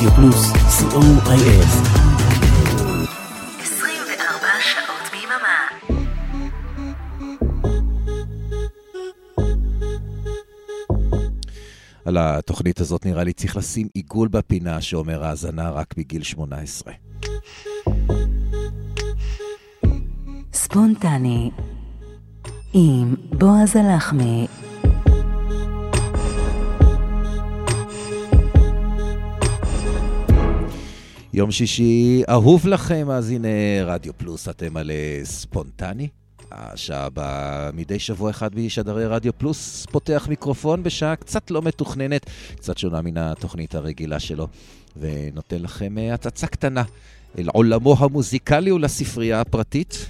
רדיו פלוס, COIF. 24 שעות ביממה. על התוכנית הזאת נראה לי צריך לשים עיגול בפינה שאומר האזנה רק בגיל 18. ספונטני עם בועז הלחמי. יום שישי אהוב לכם, אז הנה רדיו פלוס, אתם על ספונטני. השעה הבאה מדי שבוע אחד בשדרי רדיו פלוס פותח מיקרופון בשעה קצת לא מתוכננת, קצת שונה מן התוכנית הרגילה שלו, ונותן לכם הצצה קטנה אל עולמו המוזיקלי ולספרייה הפרטית.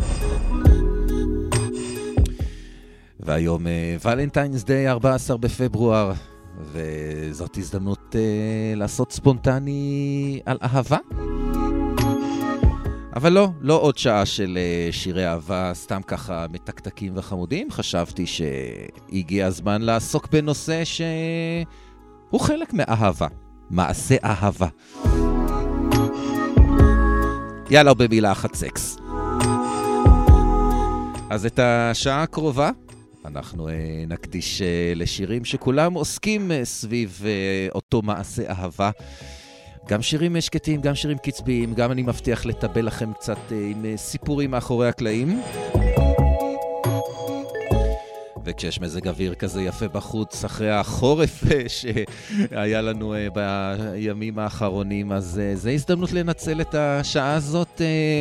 והיום ולנטיינס דיי, 14 בפברואר, וזאת הזדמנות לעשות ספונטני על אהבה. אבל לא עוד שעה של שירי אהבה, סתם ככה מתקתקים וחמודים. חשבתי שהגיע הזמן לעסוק בנושא שהוא חלק מאהבה, מעשה אהבה. יאללה, במילה אחת, סקס. אז את השעה הקרובה אנחנו נקדיש לשירים שכולם עוסקים סביב אותו מעשה אהבה. גם שירים שקטים, גם שירים קצביים, גם אני מבטיח לטבל לכם קצת עם סיפורים מאחורי הקלעים. וכשיש מזג אוויר כזה יפה בחוץ, אחרי החורף שהיה לנו בימים האחרונים, אז זה הזדמנות לנצל את השעה הזאת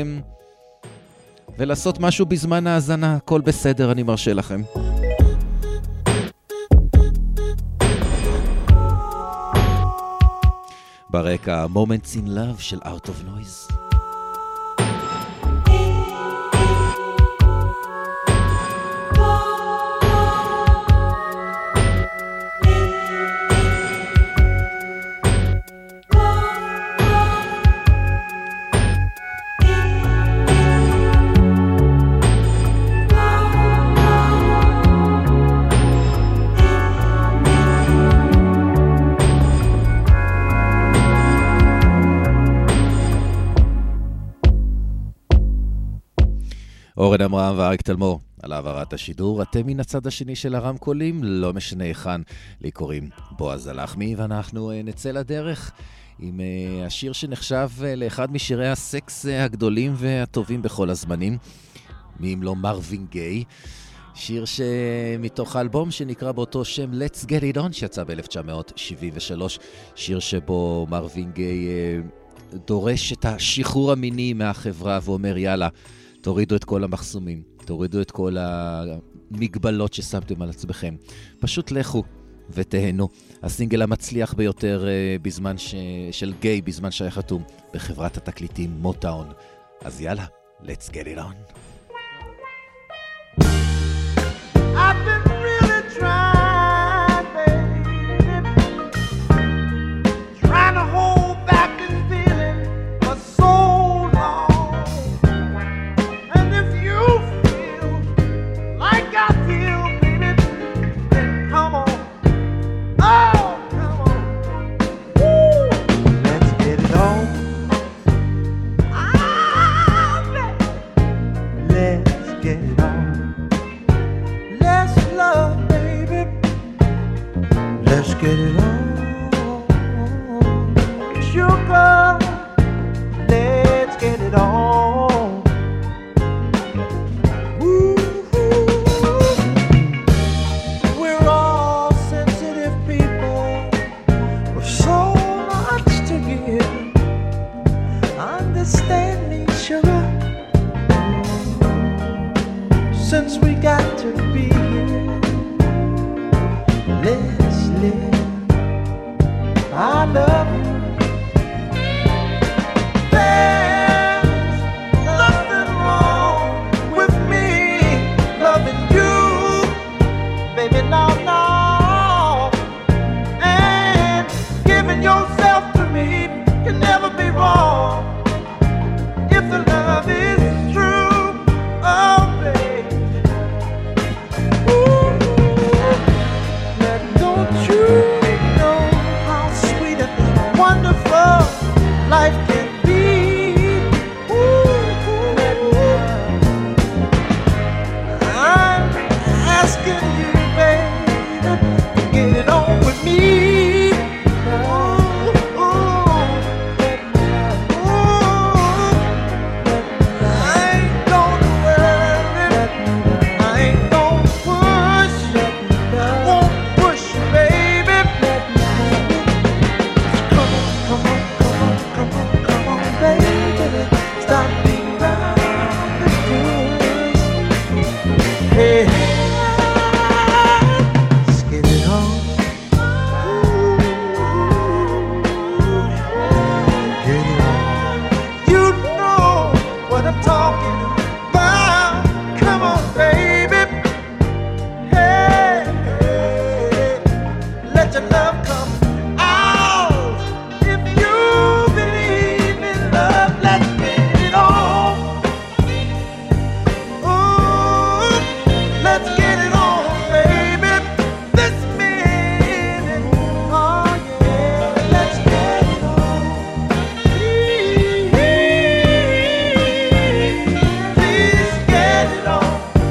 ולעשות משהו בזמן ההזנה. הכל בסדר, אני מרשה לכם. ברקע, Moments in Love של Art of Noise. אורן אמרם ואריק תלמור על העברת השידור. אתם מן הצד השני של הרמקולים, לא משנה היכן, לי קוראים בועז הלחמי, ואנחנו נצא לדרך עם השיר שנחשב לאחד משירי הסקס הגדולים והטובים בכל הזמנים, מי אם לא מרווין גיי, שיר שמתוך האלבום שנקרא באותו שם Let's Get It On, שיצא ב-1973, שיר שבו מרווין גיי דורש את השחרור המיני מהחברה ואומר יאללה, תורידו את כל המחסומים, תורידו את כל המגבלות ששמתם על עצמכם. פשוט לכו ותהנו. הסינגל המצליח ביותר בזמן של גיי, בזמן שהיה חתום בחברת התקליטים מוטאון. אז יאללה, let's get it on. I've been really trying, baby, trying to hold back this feeling for so long. And if you feel like I feel, baby, then come on. Oh, come on. Woo. Let's get it on. Ah, baby. Let's get it on. Love, baby, let's get it on. Sugar, let's get it on. Woo-hoo. We're all sensitive people with so much to give. Understand me, sugar, since we got to be. Let's live let's get it on, baby. This minute, oh yeah, let's get it on. Please get it on.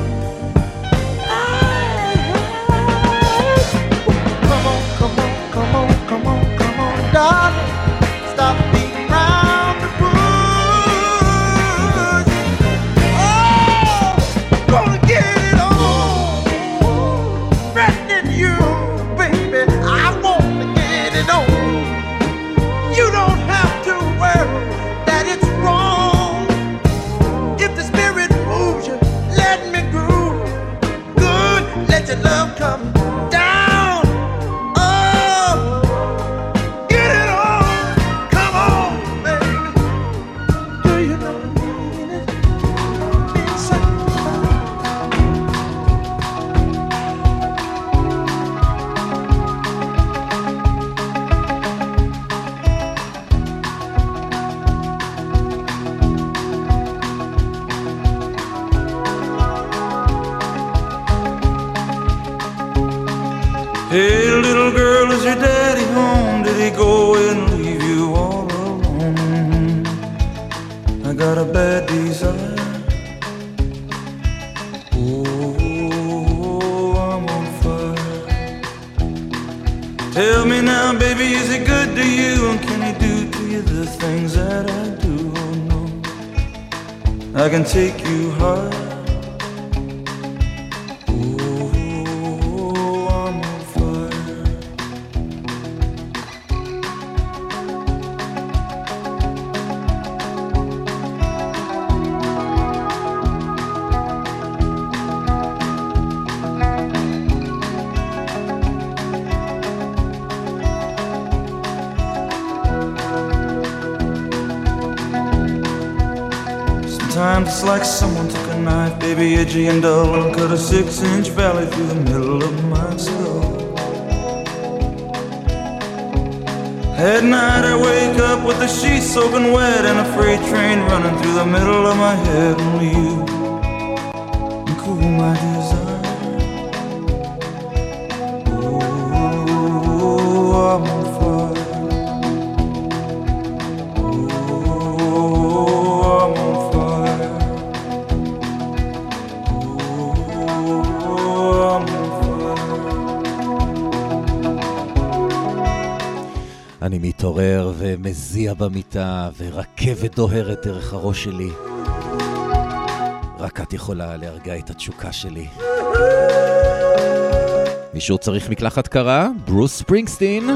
Come on, come on, come on, come on, come on, darling. Stop beating round the bush. Oh, gonna get it on. Threatening you, baby. I want to get it on. You don't have to worry that it's wrong. If the spirit moves you, let me groove. Good, let your love come down. Oh, get it on. Come on, baby. Do you know what I mean? Being satisfied. Hey, little girl, is your daddy home? Did he go and leave you all alone? I got a bad desire. Oh, I'm on fire. Tell me now, baby, is he good to you? And can he do to you the things that I do? Oh, no, I can take you high. Sometimes it's like someone took a knife, baby, edgy and dull, and cut a 6-inch valley through the middle of my skull. At night I wake up with the sheets soaking wet and a freight train running through the middle of my head. Only you can cool my desire. Oh, I'm on fire. אני מתעורר ומזיע במיטה ורכבת דוהרת דרך הראש שלי. רק את יכולה להרגע את התשוקה שלי. מישהו צריך מקלחת קרה? ברוס ספרינגסטין.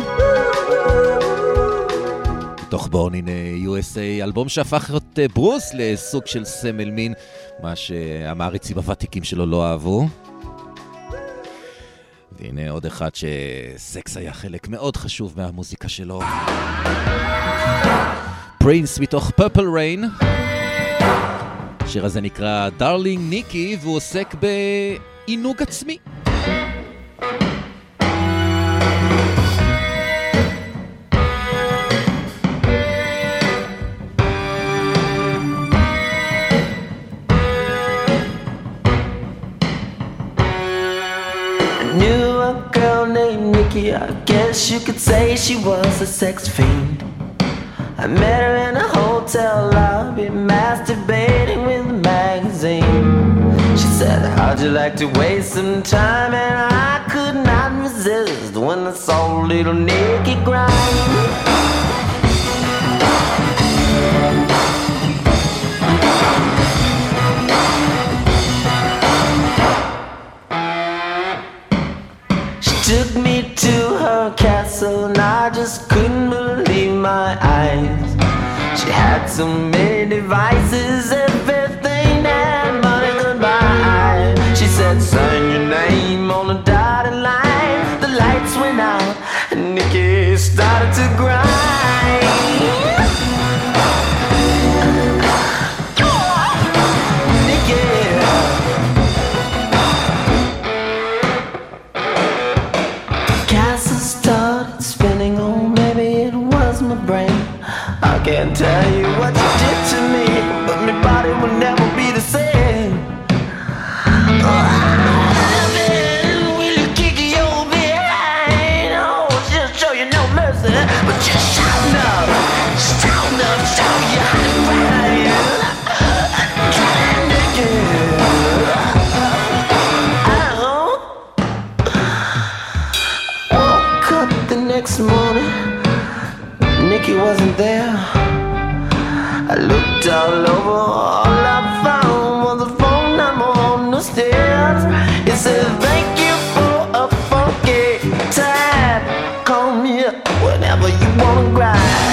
מתוך בורן אין USA, אלבום שהפך את ברוס לסוג של סמל מין, מה שהמעריצים הוותיקים שלו לא אהבו. והנה עוד אחד שסקס היה חלק מאוד חשוב מהמוזיקה שלו. פרינס מתוך פרפל ריין. השיר הזה נקרא דארלינג ניקי, והוא עוסק בעינוג עצמי. I guess you could say she was a sex fiend. I met her in a hotel lobby, masturbating with a magazine. She said, how'd you like to waste some time? And I could not resist when I saw little Nikki grind. Took me to her castle and I just couldn't believe my eyes. She had so many devices, everything that money could buy. She said, sign your name on the dotted line. The lights went out and Nikki started to grind. Nikki. Started spinning, oh maybe it was my brain. I can't tell you what you did to me, but my body will never be the same. Oh. next morning, Nikki wasn't there. I looked all over, all I found was a phone number on the stairs. It said, thank you for a funky time. Call me up whenever you wanna grind.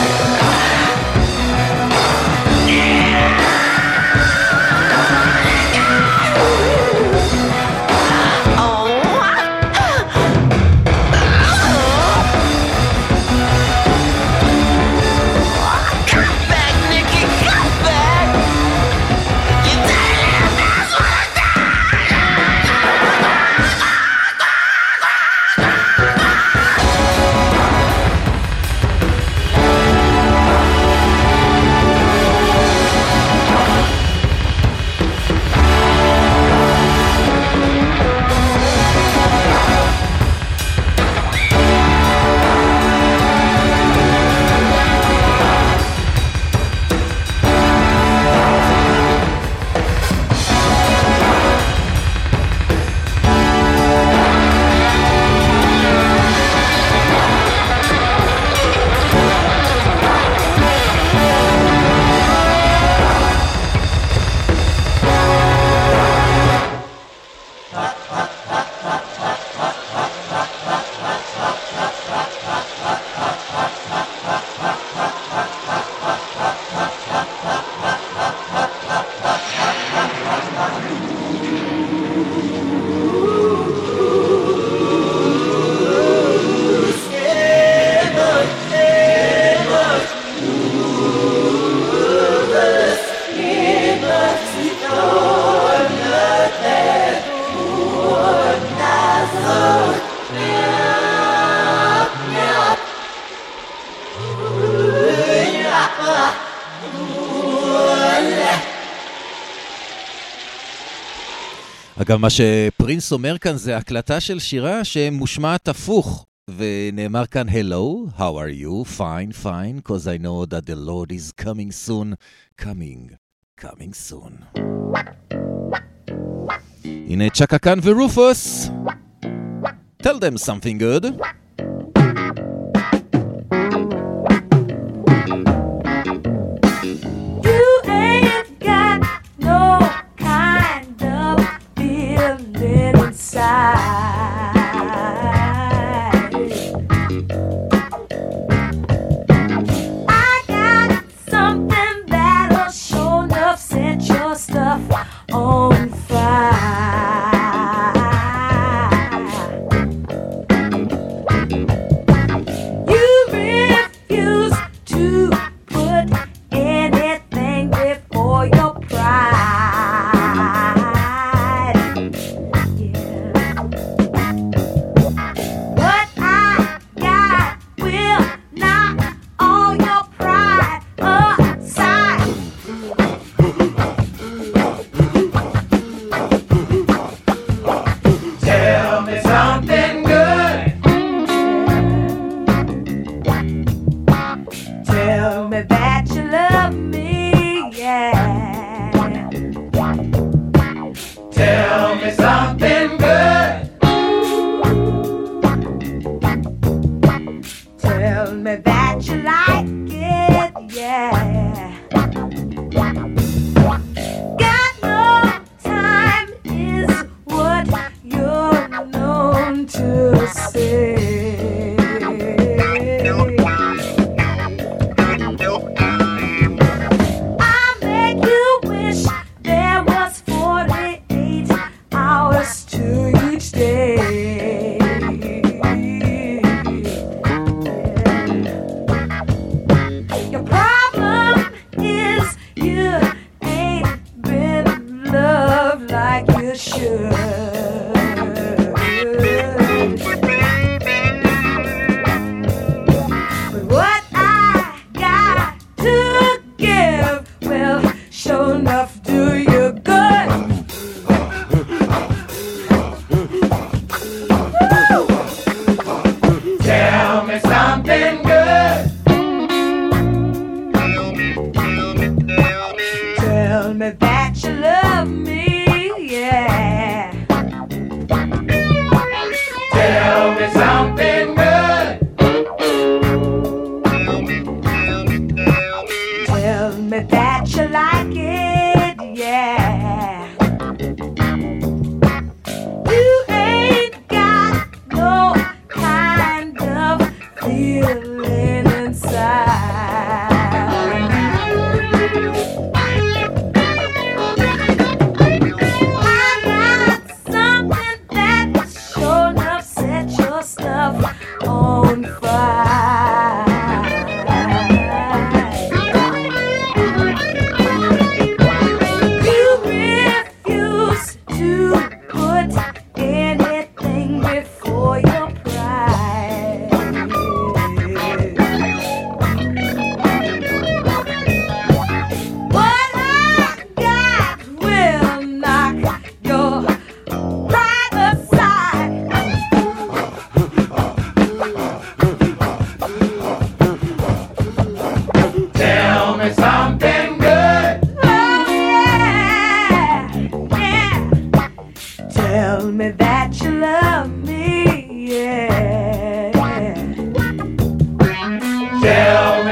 אגב, מה שפרינס אומר כאן זה הקלטה של שירה שמושמעת הפוך, ונאמר כאן, Hello, how are you? Fine, fine, cause I know that the Lord is coming soon. Coming soon. הנה צ'קה כאן ורופוס. Tell them something good.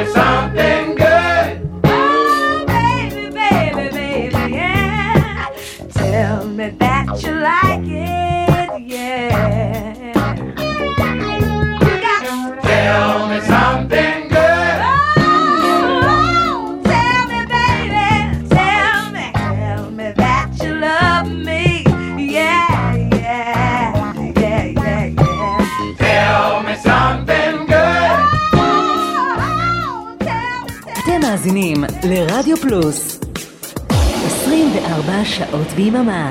me something good. Oh, baby, baby, baby, yeah. Tell me that you like it, yeah. You got to Tell me something good. Oh, tell me, baby, tell me that you love me, yeah, yeah, yeah, yeah, yeah. Tell me something good. Oh, tell me. אתם מאזינים לרדיו פלוס 24 שעות ביממה.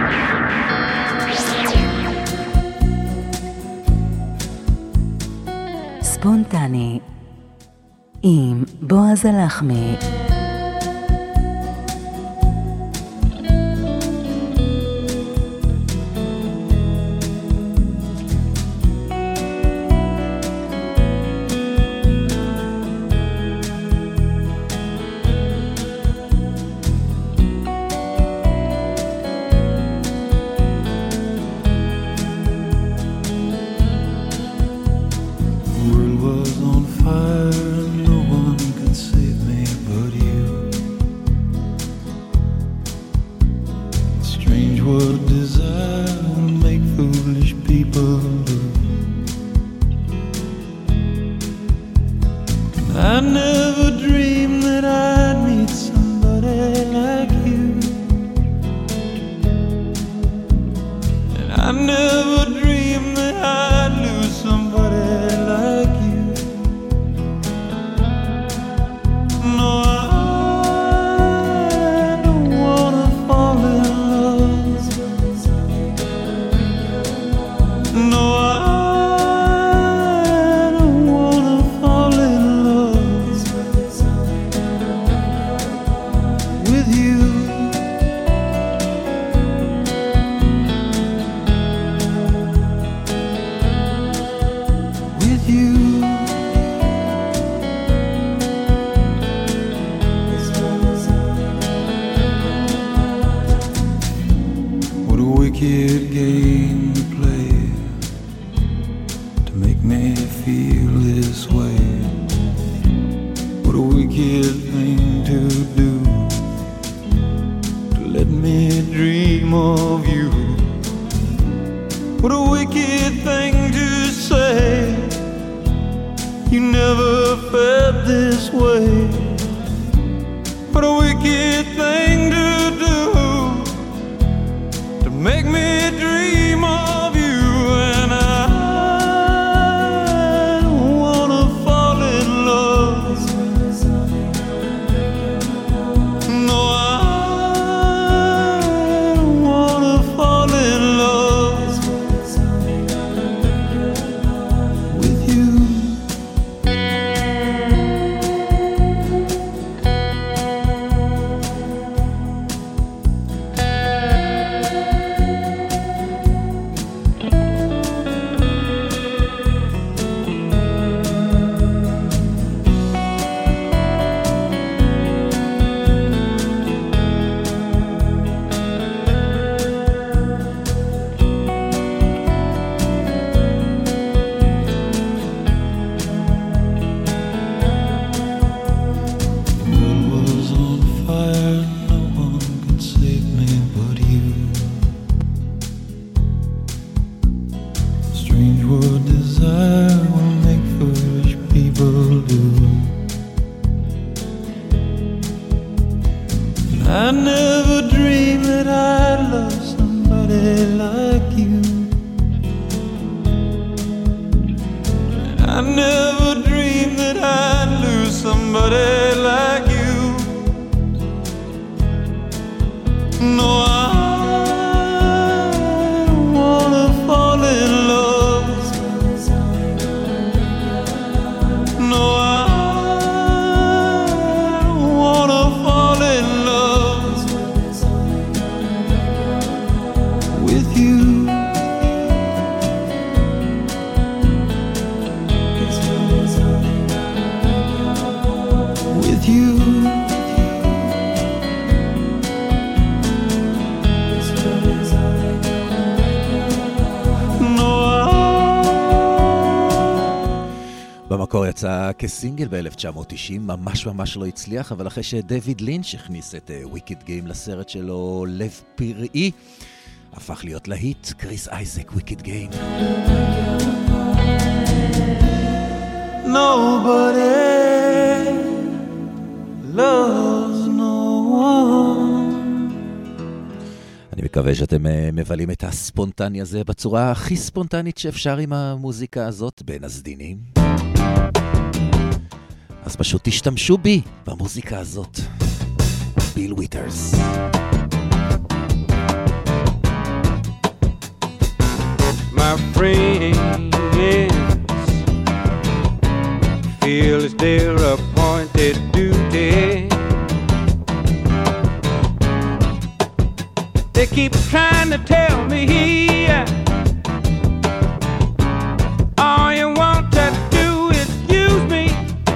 ספונטני עם בועז הלחמי. world was on fire and no one could save me but you. Strange what desire will make foolish people do. I never dreamed that I'd meet somebody like you, and I never dreamed that I'd lose somebody like you. No, I don't wanna fall in love. No, I don't wanna fall in love with you. With you. What a wicked game to play to make me feel this way. What a wicked thing to do to let me dream of you. What a wicked thing to say. You never felt this way. What a wicked thing to do to make me dream of you. And I don't wanna fall in love. No, I don't wanna fall in love with you. The world was on fire, no one could save me but you. Strange what desire will make foolish people do. I never dreamed that I'd love somebody like you. I never dreamed that I'd lose somebody like you. No, I don't wanna fall in love. No, I don't wanna fall in love with you. במקור יצא כסינגל ב-1990, ממש לא הצליח, אבל אחרי שדויד לינץ' הכניס את וויקד גיים לסרט שלו לב פראי, הפך להיות להיט. קריס אייזק, וויקד גיים. Nobody loves no one. אני מקווה שאתם מבלים את הספונטני הזה בצורה הכי ספונטנית שאפשר עם המוזיקה הזאת בין הסדינים. אז פשוט תשתמשו בי במוזיקה הזאת. ביל וויטרס. My friends feel it's their appointed duty. They keep trying to tell me all you want to do is use me.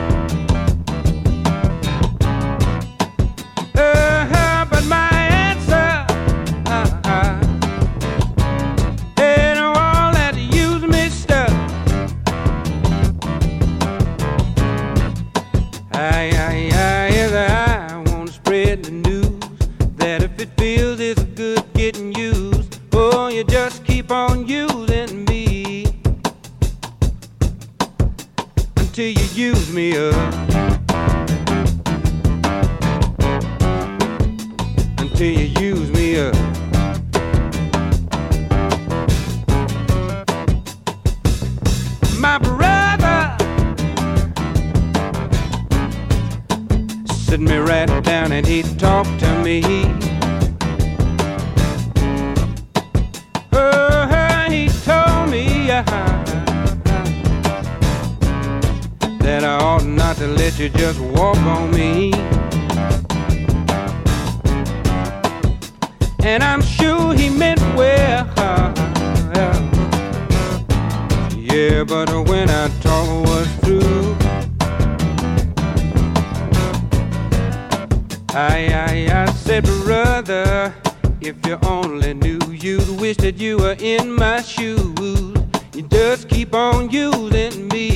But my answer ain't all that use me stuff. I want to spread the news that if it feels it's good getting used, oh, you just keep on using me until you use me up. Until you use me up. My brother sit me right down and he'd talk to me. He told me that I ought not to let you just walk on me. And I'm sure he meant well. Yeah, but when our talk was through, I said, brother, if you only knew, you'd wish that you were in my shoes. You just keep on using me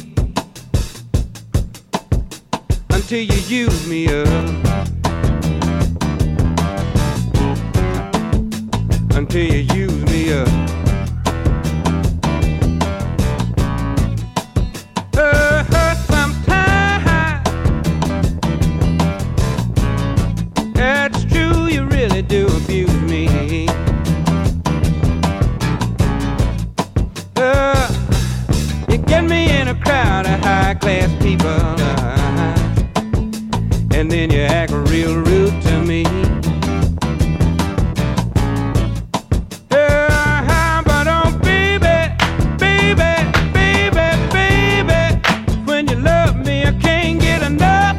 until you use me up. Until you use me up. That's true, you really do abuse me. You get me in a crowd of high-class people, and then you act real rude to me. But oh, baby, baby, baby, baby, when you love me, I can't get enough.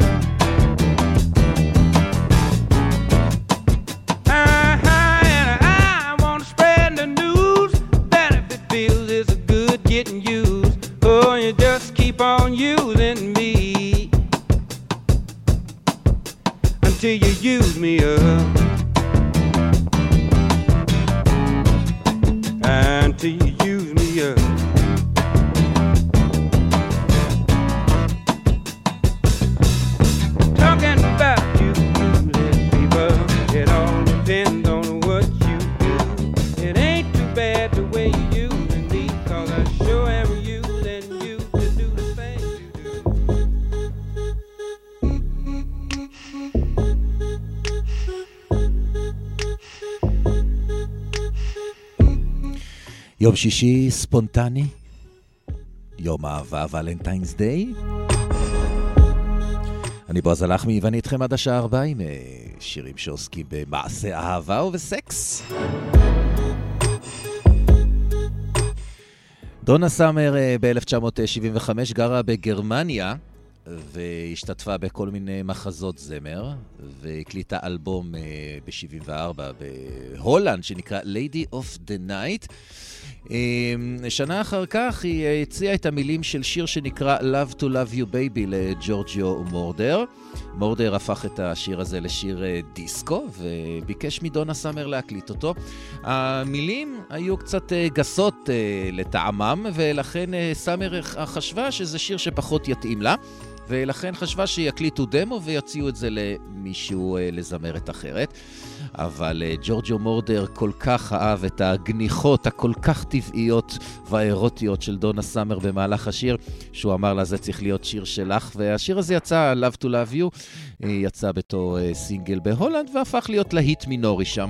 On using me until you use me up. Until you use me up. Talking about you, people, it all depends on what you do. It ain't too bad the way you using me, 'cause I sure am using you. יום שישי ספונטני, יום אהבה, ולנטיינס דיי. אני בועז הלחמי ואני איתכם עד השעה 4 עם שירים שעוסקים במעשה אהבה ובסקס. דונה סאמר ב-1975 גרה בגרמניה, והשתתפה בכל מיני מחזות זמר, והקליטה אלבום ב-74 בהולנד שנקרא Lady of the Night. שנה אחר כך היא הציעה את המילים של שיר שנקרא Love to Love You Baby לג'ורג'יו מורדר. מורדר הפך את השיר הזה לשיר דיסקו וביקש מדונה סאמר להקליט אותו. המילים היו קצת גסות לטעמם, ולכן סאמר חשבה שזה שיר שפחות יתאים לה, ולכן חשבה שיקליטו דמו ויוציאו את זה למישהו לזמרת אחרת. אבל ג'ורג'יו מורדר כל כך אהב את הגניחות הכל כך טבעיות והאירוטיות של דונה סאמר במהלך השיר, שהוא אמר לה זה צריך להיות שיר שלך, והשיר הזה יצא, Love to Love You, יצא בתור סינגל בהולנד והפך להיות להיט מינורי שם.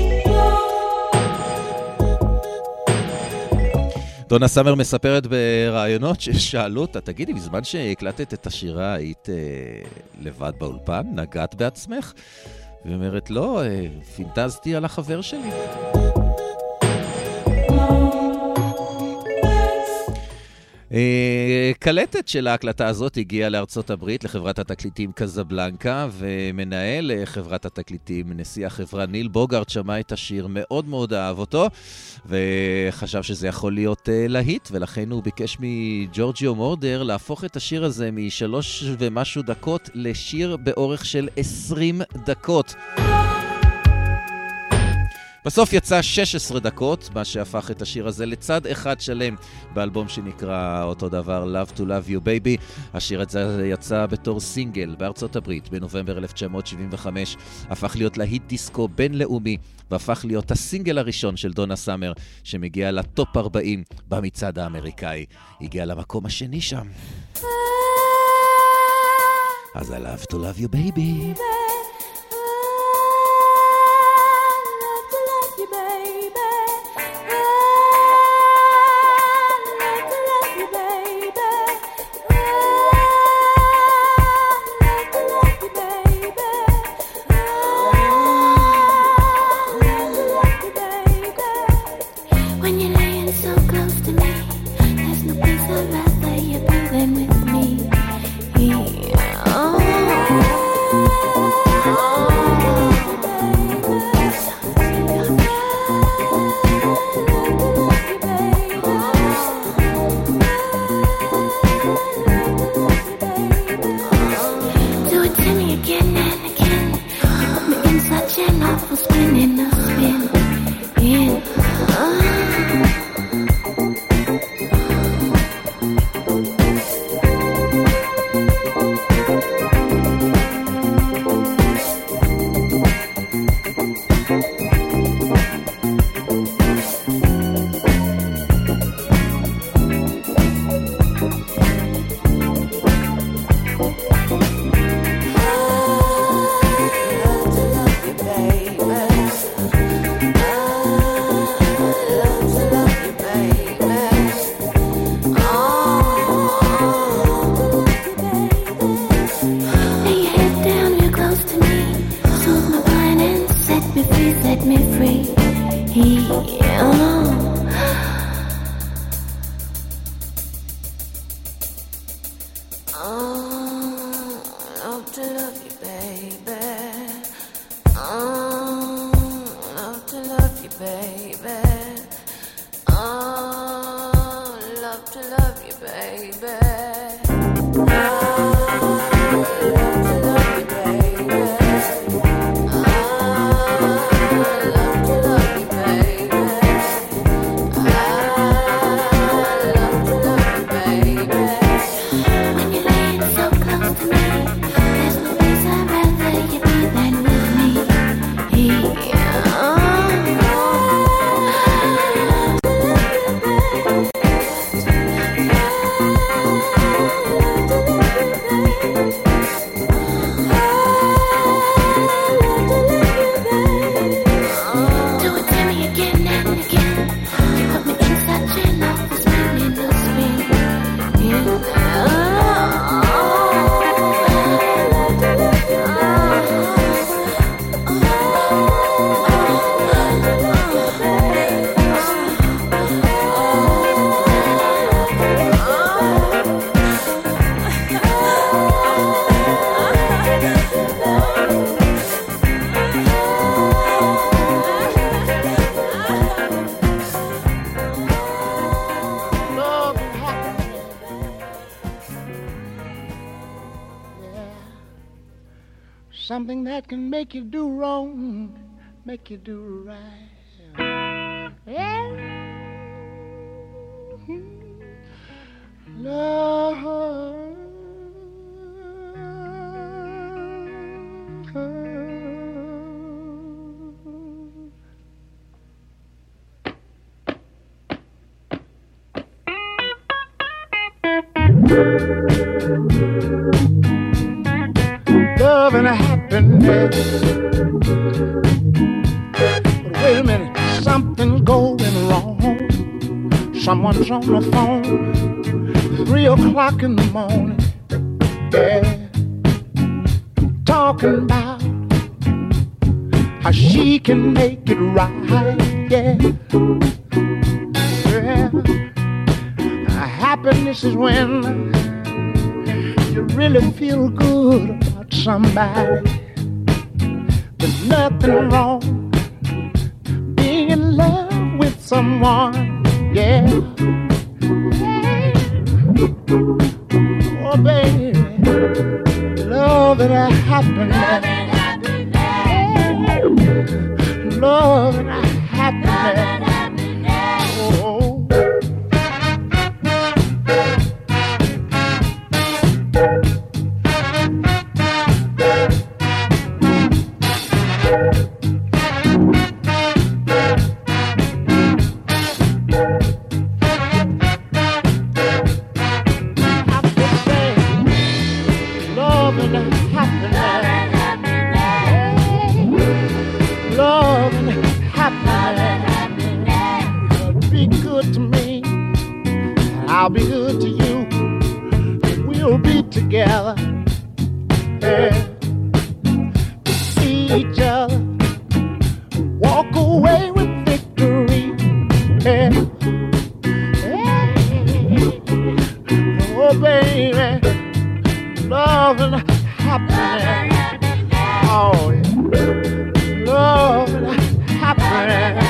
דונה סאמר מספרת ברעיונות ששאלו אותה, תגידי, בזמן שהקלטת את השירה היית לבד באולפן? נגעת בעצמך? והיא אומרת, לא, פינטזתי על החבר שלי. קלטת של ההקלטה הזאת הגיעה לארצות הברית, לחברת התקליטים קזבלנקה, ומנהל חברת התקליטים, נשיא החברה ניל בוגארט, שמע את השיר, מאוד מאוד אהב אותו, וחשב שזה יכול להיות להיט, ולכן הוא ביקש מג'ורג'יו מורדר להפוך את השיר הזה מ3 ומשהו דקות לשיר באורך של 20 דקות. בסוף יצא 16 דקות, מה שהפך את השיר הזה לצד אחד שלם באלבום שנקרא אותו דבר Love to Love You Baby. השיר הזה יצא בתור סינגל בארצות הברית בנובמבר 1975, הפך להיות להיט דיסקו בינלאומי, והפך להיות הסינגל הראשון של דונה סאמר שמגיע לטופ 40 במצעד האמריקאי. הגיע למקום השני שם. אז I love to love you baby. something that can make you do wrong, make you do right. Yeah. Love. Love and happiness. But wait a minute, something's going wrong. Someone's on the phone, 3 o'clock in the morning. Yeah, talking about how she can make it right. Yeah, yeah. Happiness is when you really feel good about somebody. There's nothing wrong being in love with someone. Yeah. Oh, baby, love and happiness. Love and happiness. Oh. I'll be good to you. We'll be together. Yeah. To see each other. Walk away with victory. Yeah. Yeah. Oh, baby. Love and happiness. Oh, yeah. Love and happiness.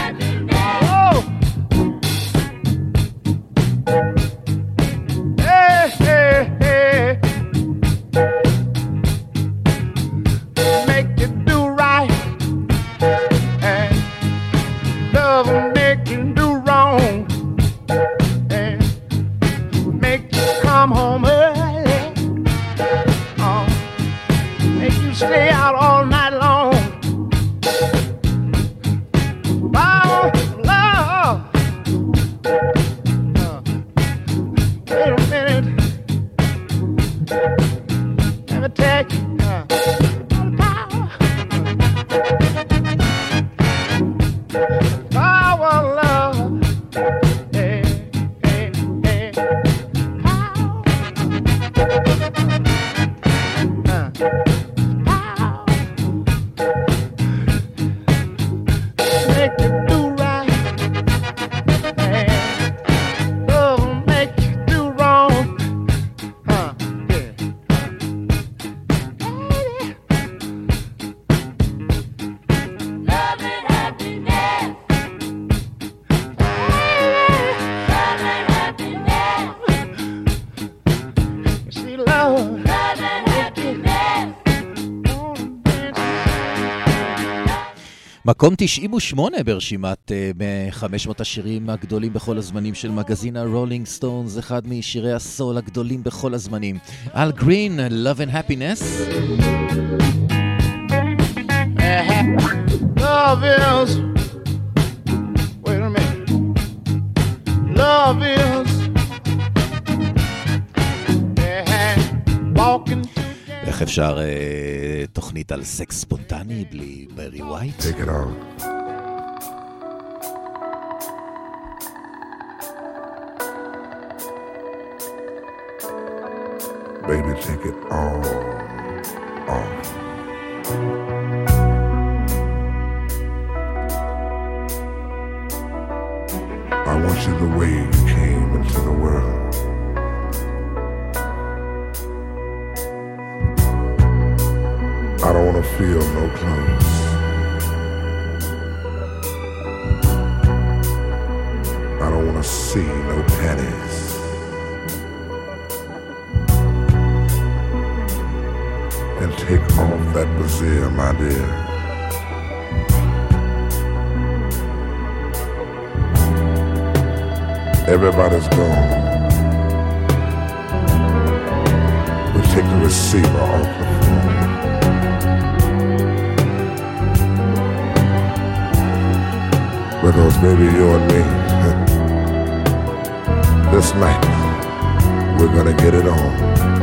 מקום 98 ברשימת 500 השירים הגדולים בכל הזמנים של מגזין הרולינג סטונס, אחד משירי הסול הגדולים בכל הזמנים. אל גרין, Love and Happiness. Love is, wait a minute, love is, walking. איך אפשר תוכנית על סקס ספונטני בלי ברי ווייט? Take it on. Baby, take it all off. I want you the way you came into the world. I don't want to feel no clothes. I don't want to see no panties. take off that brassiere, my dear. Everybody's gone. We take the receiver off the phone. Because baby, you and me, this night, we're gonna get it on.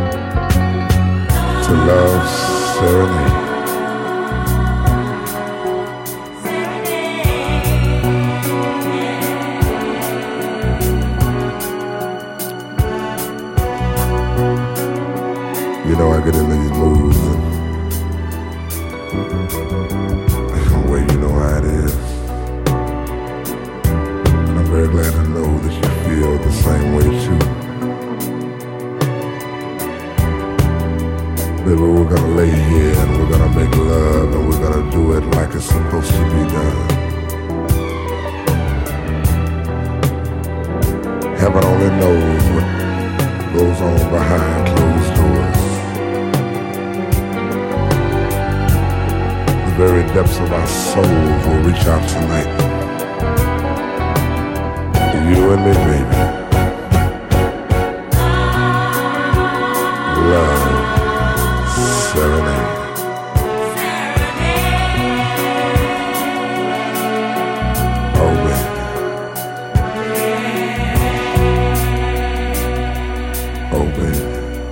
To Love's Serenade. You know, I get in these moods and well, you know how it is. And I'm very glad to know that you feel the same way too. Baby, we're gonna lay here and we're gonna make love and we're gonna do it like it's supposed to be done. Heaven only knows what goes on behind closed doors. The very depths of our souls will reach out tonight. You and me, baby. Love. Serenade. Oh, baby. Oh, baby.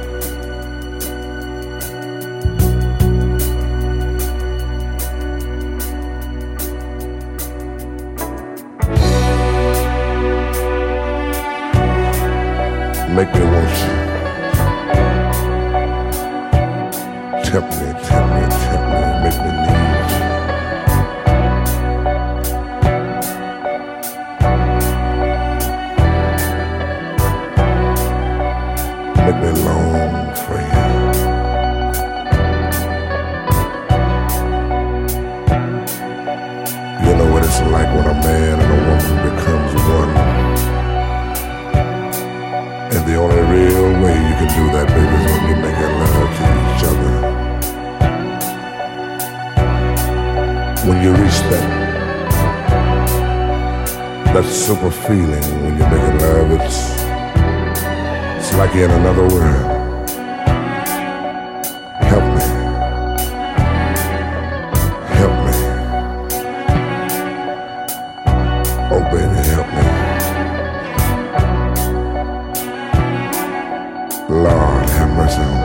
Make me want you. Tempt me, tempt me, tempt me, make me need you. Make me long for you. You know what it's like when a man and a woman becomes one. And the only real way you can do that, baby, is when you make love to each other. When you reach that super feeling when you're making love, it's like you're in another world. Help me. Help me. Oh, baby, help me. Lord, have mercy on me.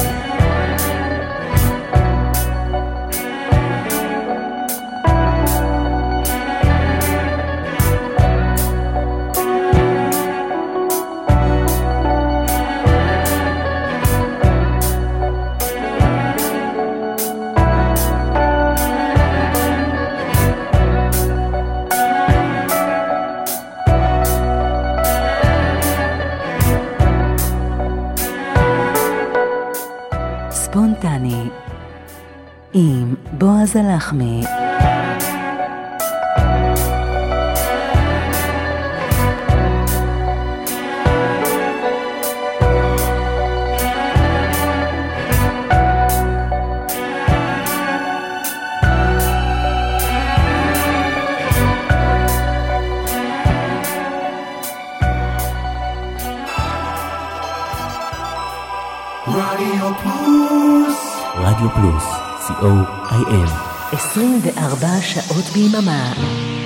ספונטני עם בועז הלחמי. רדיו פלוס, COIM. 24 שעות ביממה.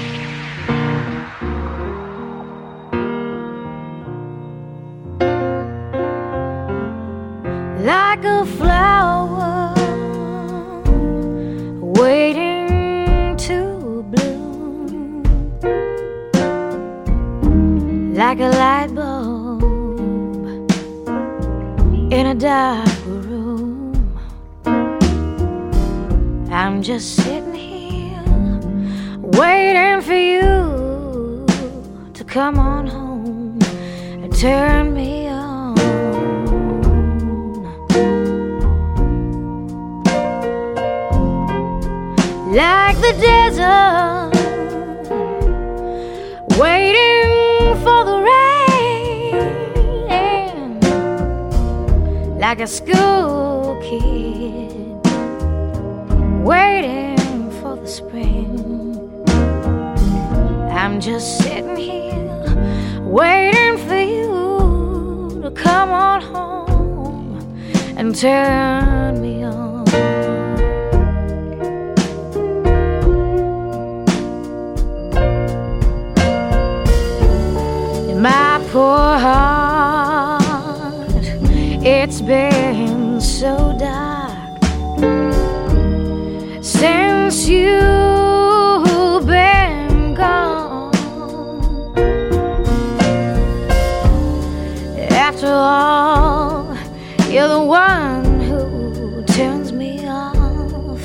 Like a flower waiting to bloom, like a light bulb in a dark room. I'm just sitting here waiting for you to come on home and turn me on. Like the desert waiting for the rain, like a school kid I'm just sitting here waiting for you to come on home and turn me on. My poor heart, it's been so dark since you've been gone. After all, you're the one who turns me off,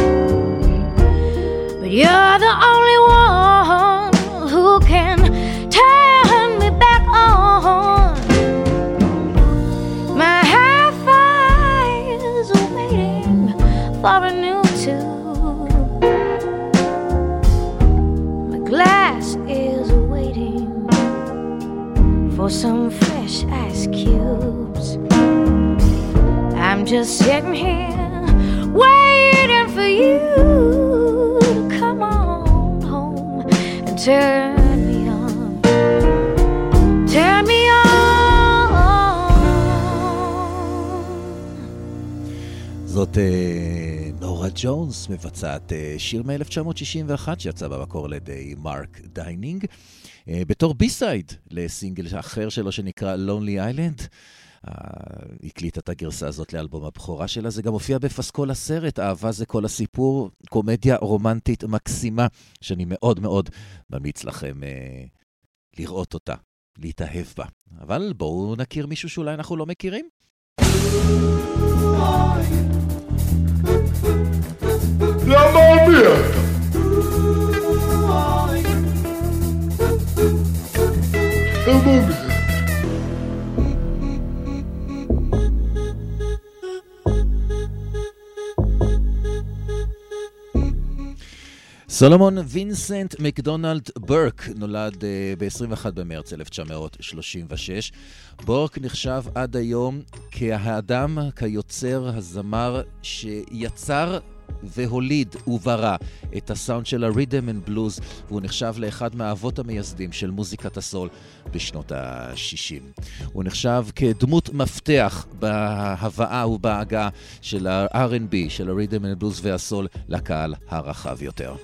but you're the only one who can turn me back on. My hi-fi's waiting for a new tune. My glass is waiting for some fresh ice cubes. I'm just sitting here waiting for you to come on home and turn me on. Turn me on. זאת נורה ג'ונס מבצעת שיר מ-1961 שיצא במקור לידי מרק דיינינג בתור בי-סייד לסינגל אחר שלו שנקרא Lonely Island. הקליטה את הגרסה הזאת לאלבום הבכורה שלה. זה גם הופיע בפסקול הסרט אהבה זה כל הסיפור, קומדיה רומנטית מקסימה שאני מאוד מאוד ממליץ לכם לראות אותה, להתאהב בה. אבל בואו נכיר מישהו שאולי אנחנו לא מכירים. למה מיה? סולומון וינסנט מקדונלד ברק נולד ב-21 במרץ 1936. ברק נחשב עד היום כאדם, כיוצר, הזמר שיצר והוליד וברא את הסאונד של הריתם אנד בלוז, והוא נחשב לאחד מהאבות המייסדים של מוזיקת הסול בשנות ה-60. הוא נחשב כדמות מפתח בהבאה ובהגעה של ה-R&B, של הריתם אנד בלוז והסול לקהל הרחב יותר.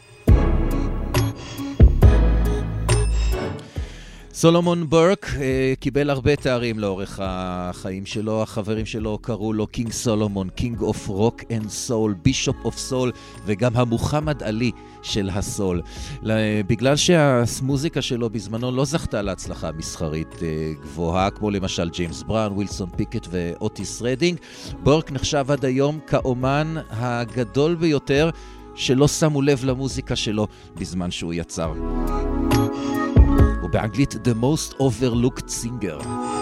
סולומון ברק קיבל הרבה תארים לאורך החיים שלו. החברים שלו קראו לו קינג סולומון, קינג אוף רוק אנד סול, בישופ אוף סול, וגם המוחמד עלי של הסול. בגלל שהמוזיקה שלו בזמנו לא זכתה להצלחה מסחרית גבוהה, כמו למשל ג'יימס בראון, ווילסון פיקט ואוטיס רדינג, ברק נחשב עד היום כאומן הגדול ביותר שלא שמו לב למוזיקה שלו בזמן שהוא יצר. ובאנגלית The Most Overlooked Singer.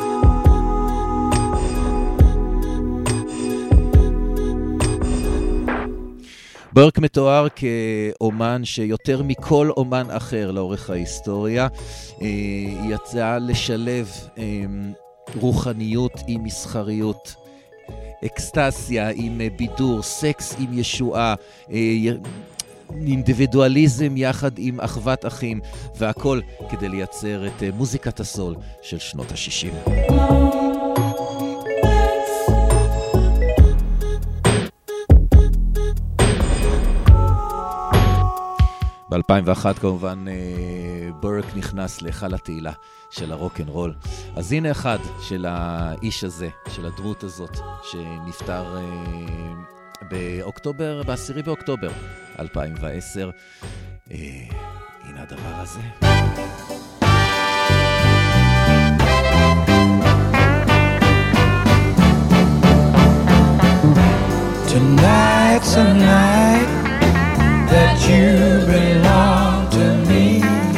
ברק מתואר כאומן שיותר מכל אומן אחר לאורך ההיסטוריה יצא לשלב רוחניות עם מסחריות, אקסטסיה עם בידור, סקס עם ישועה, אינדיבידואליזם יחד עם אחוות אחים, והכל כדי לייצר את מוזיקת הסול של שנות ה-60. ב-2001 כמובן ברק נכנס להיכל התהילה של הרוק-אנד-רול. אז הנה אחד של האיש הזה, של הדמות הזאת, שנפטר באוקטובר, ב-10 באוקטובר 2010. הנה הדבר הזה. Tonight's a night that you belong to me.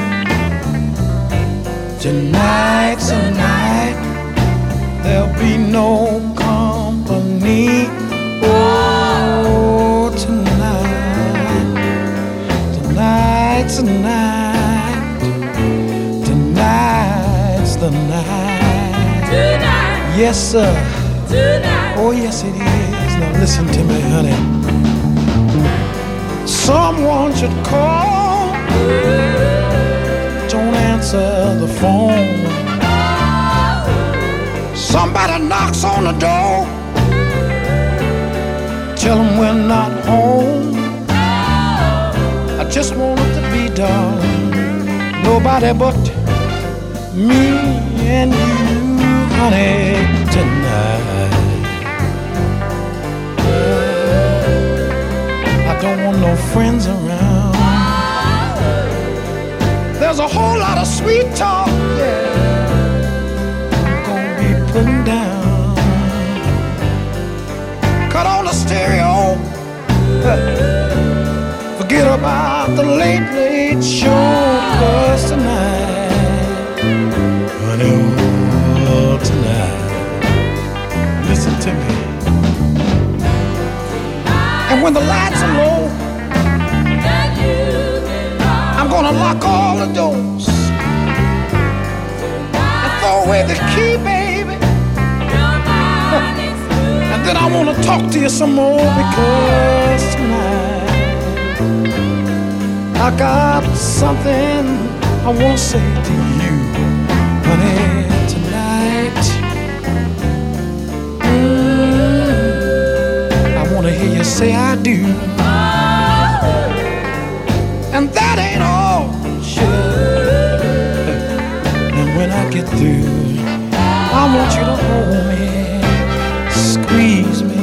Tonight's a night there'll be no company. Oh, tonight, tonight's the night, tonight's the night. Tonight. Yes, sir. Tonight. Oh, yes, it is. Now listen to me, honey. Someone should call to answer the phone. Somebody knocks on the door. Tell them we're not home. I just want it to be done. Nobody but me and you, honey, tonight. I don't want no friends around. There's a whole lot of sweet talk, yeah, I'm gonna be putting down. Cut on the stereo. Forget about the late, late show, 'cause tonight, honey, oh, tonight, listen to me. And when the lights are low, I'm gonna lock all the doors and throw away the key, baby. And then I wanna talk to you some more, because tonight I got something I wanna say to you, honey, tonight. I wanna hear you say I do. And that ain't all, sugar. And when I get through, I want you to hold me, squeeze me,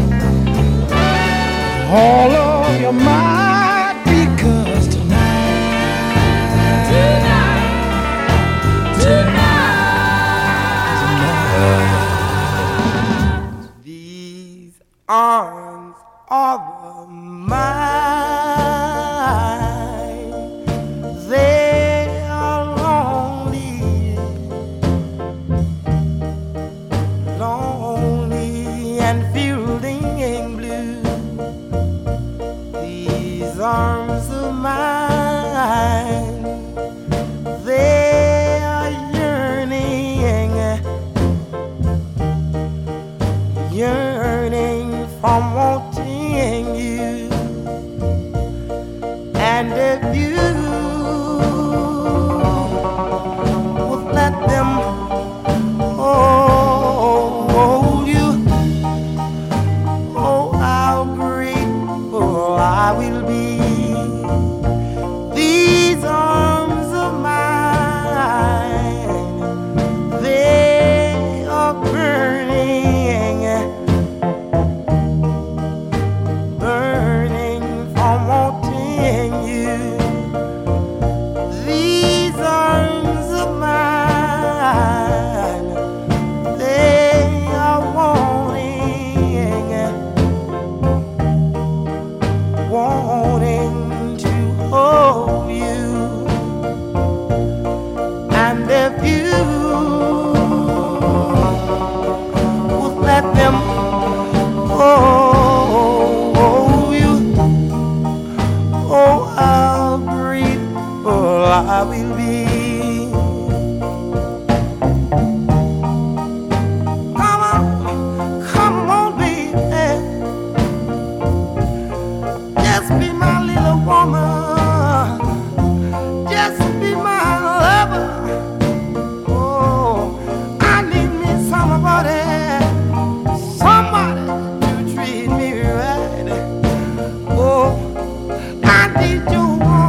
all of your might, because tonight, these arms are mine. Arms of mine, they are yearning, yearning from wanting you. And if you would let them hold you, oh, how grateful I will be. I will be. Come on, baby. Just be my little woman. Just be my lover. Oh, I need me somebody to treat me right. Oh, I need you.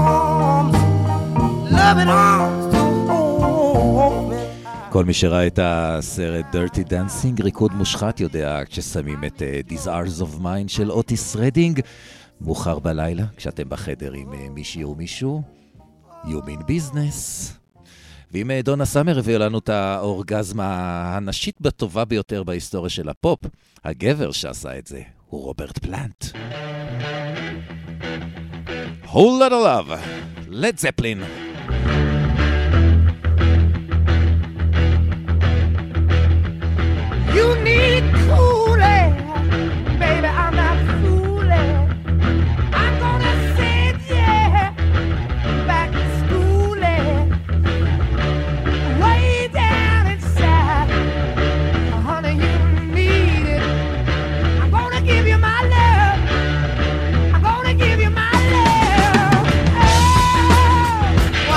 כל מי שראה את הסרט Dirty Dancing, ריקוד מושחת, יודע כששמים את These Arms of Mine של אוטיס רדינג, מאוחר בלילה, כשאתם בחדר עם מישהי או מישהו, you mean business. ואם דונה סאמר הביאו לנו את האורגזמה הנשית בטובה ביותר בהיסטוריה של הפופ, הגבר שעשה את זה הוא רוברט פלנט. Whole Lotta Love, Led Zeppelin. You need cooling, baby, I'm not fooling. I'm gonna send you back to schooling. Way down inside, honey, you need it. I'm gonna give you my love. I'm gonna give you my love. Oh,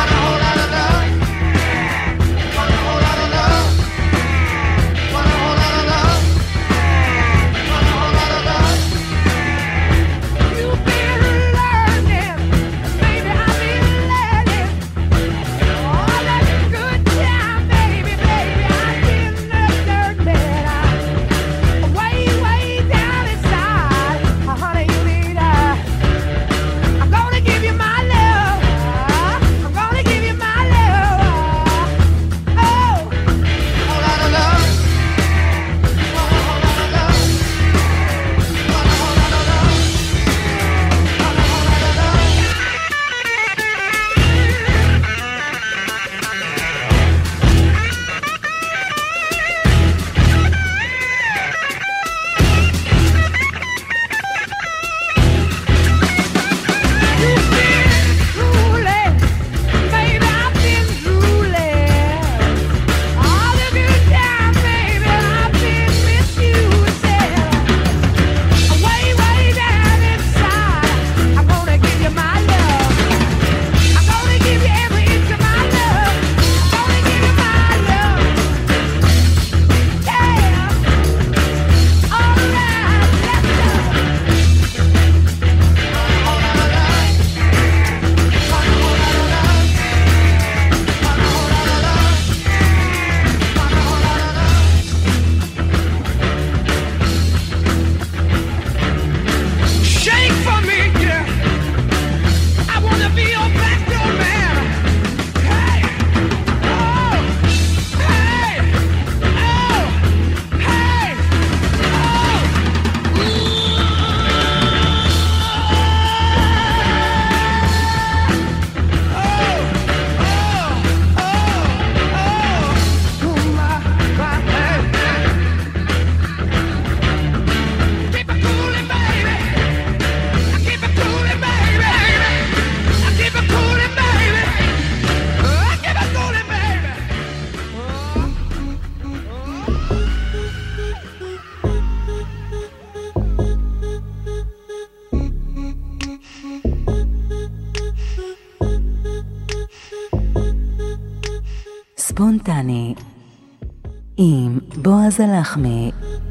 ספונטני עם בועז הלחמי.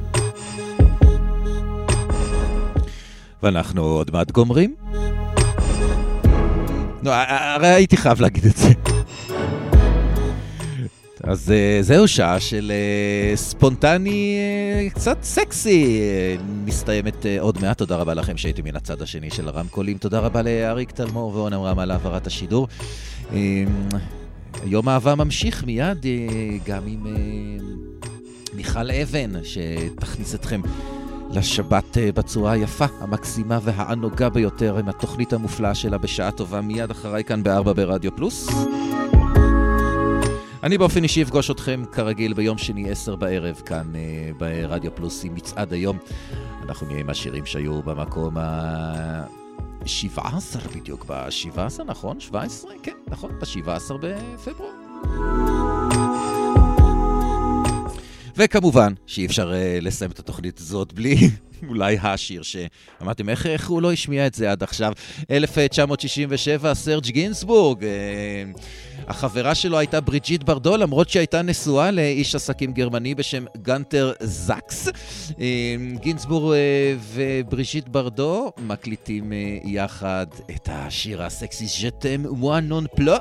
ואנחנו עוד מעט גומרים. הרי הייתי חייב להגיד את זה. אז זהו שעה של ספונטני קצת סקסי. מסתיימת עוד מעט. תודה רבה לכם שהייתם מן הצד השני של הרמקולים. תודה רבה לאריק תלמור ואורן עמרם על העברת השידור. יום אהבה ממשיך מיד גם עם מיכל אבן שתכניס אתכם לשבת בצורה היפה, המקסימה והענוגה ביותר עם התוכנית המופלאה שלה בשעה טובה מיד אחריי כאן ב4 ברדיו פלוס. אני באופן אישי אפגוש אתכם כרגיל ביום שני 10 בערב כאן ברדיו פלוס עם מצעד היום. אנחנו נהיה עם השירים שהיו במקום ה-17 בדיוק, ב-17 נכון? 17? כן, נכון, ב-17 בפברואר. וכמובן שאי אפשר לסיים את התוכנית הזאת בלי אולי השיר שאמרתם איך הוא לא השמיע את זה עד עכשיו. 1967, סרג' גינסבורג. החברה שלו הייתה בריג'יט ברדו, למרות שהייתה נשואה לאיש עסקים גרמני בשם גנטר זקס. גינסבורג ובריג'יט ברדו מקליטים יחד את השיר הסקסי ז'תם מואה נון פלו,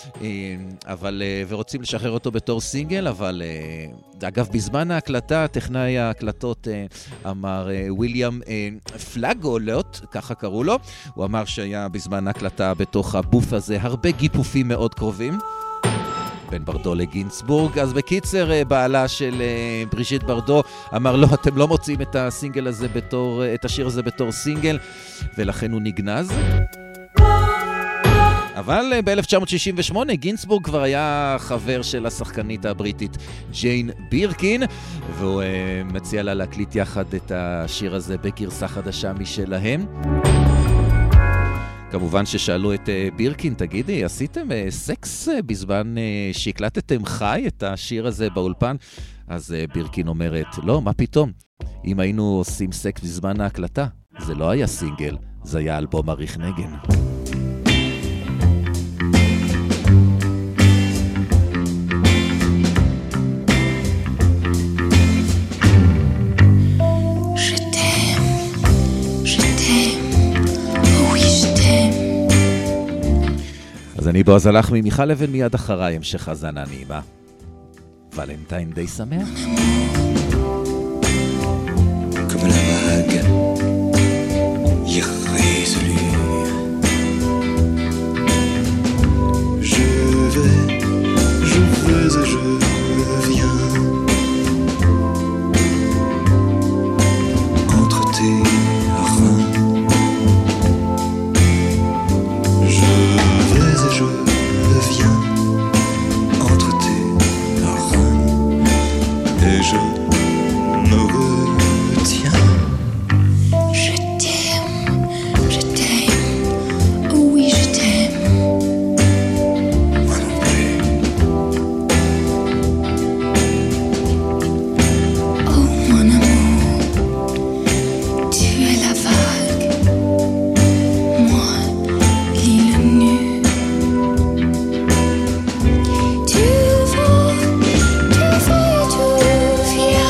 ורוצים לשחרר אותו בתור סינגל, אבל אגב בזמן ההקלטה, טכנאי ההקלטות אמר וויליאם פלאגולוט, ככה קראו לו, הוא אמר שהיה בזמן ההקלטה בתוך הבוף הזה הרבה גיפופים מאוד קרובים בין ברדו לגינסבורג. אז בקיצר, בעלה של בריג'יט ברדו אמר לו, אתם לא מוצאים את הסינגל הזה את השיר הזה בתור סינגל, ולכן הוא נגנז. אבל ב-1968 גינסבורג כבר היה חבר של השחקנית הבריטית ג'יין בירקין, והוא מציע לה להקליט יחד את השיר הזה בגרסה חדשה משלהם. כמובן ששאלו את בירקין, תגידי, עשיתם סקס בזמן שהקלטתם חי את השיר הזה באולפן? אז בירקין אומרת, לא, מה פתאום? אם היינו עושים סקס בזמן ההקלטה, זה לא היה סינגל, זה היה אלבום אריך נגן. אז אני בועז הלחמי, מיכל אבן מיד אחריי, המשך האזנה נעימה. ולנטיין די שמח. Comme la vague irrésolue, je vais et je viens entre tes reins. Je viens entre tes reins et je me retiens. Je t'aime, oh oui je t'aime. Moi non plus. Oh mon amour, tu es la vague, moi l'île nue. Tu vas, tu viens.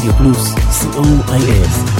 רדיו פלוס, co.il